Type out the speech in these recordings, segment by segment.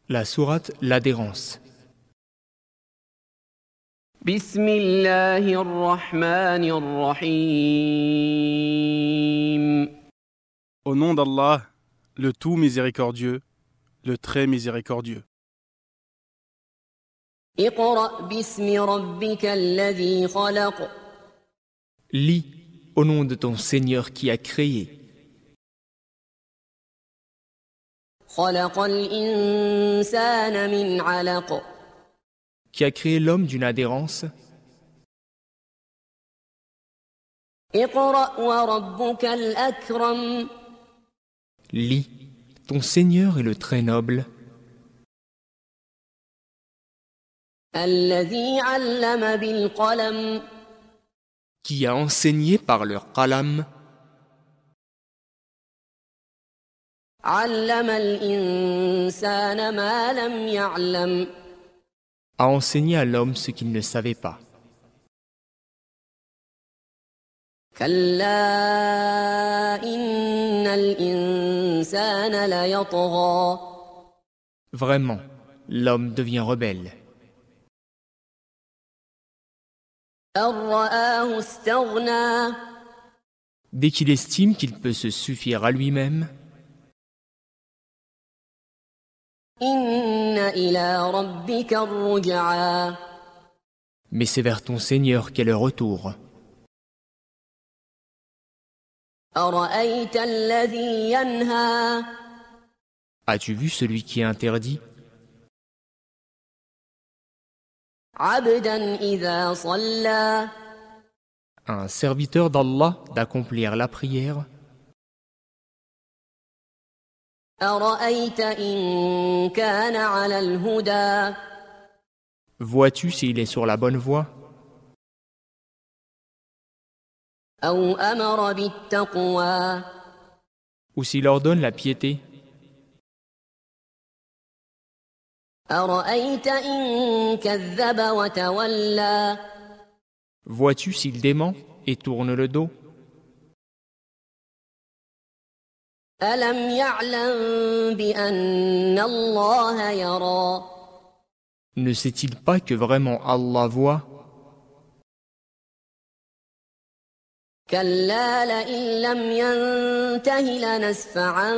La sourate L'adhérence. بسم الله الرحمن الرحيم. Au nom d'Allah, le tout miséricordieux, le très miséricordieux. اقرأ باسم ربك الذي خلق. Lis au nom de ton Seigneur qui a créé. خلق الإنسان من علق. Qui a créé l'homme d'une adhérence. اقرأ وربك الأكرم. Lis, ton Seigneur est le très noble. الذي علم بالقلم. Qui a enseigné par leur qalam. علم الإنسان ما لم يعلم. A enseigné à l'homme ce qu'il ne savait pas. كلا إن الإنسان ليطغى. Vraiment, l'homme devient rebelle. أن رآه استغنى. Dès qu'il estime qu'il peut se suffire à lui-même. إن إلى ربك الرجعى. Mais c'est vers ton Seigneur qu'est le retour. أرأيت الذي ينهى. As-tu vu celui qui est interdit? عبدا إذا صلى. Un serviteur d'Allah d'accomplir la prière. أرأيت إن كان على الهدى. Vois-tu s'il est sur la bonne voie? أو أمر بالتقوى. Ou s'il ordonne la piété? أرأيت إن كذب وتولى. Vois-tu s'il dément et tourne le dos? ألم يعلم بأن الله يرى. Ne sait-il pas que vraiment Allah voit? كلا لئن لم ينته لنسفعا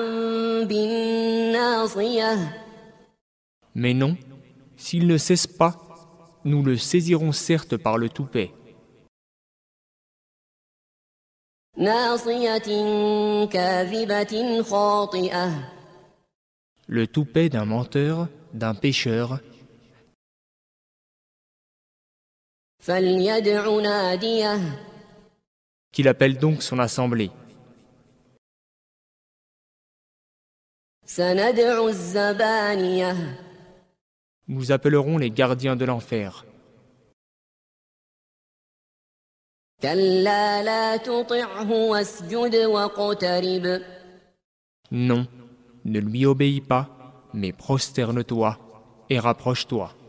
بالناصية. Mais non, s'il ne cesse pas, nous le saisirons certes par le toupet. ناصية كاذبة خاطئة. Le toupet d'un menteur, d'un pécheur. فليدع ناديه. Qu'il appelle donc son assemblée. سندع الزبانية. Nous appellerons les gardiens de l'enfer. كلا لا تطعه واسجد واقترب. Non, ne lui obéis pas, mais prosterne-toi et rapproche-toi.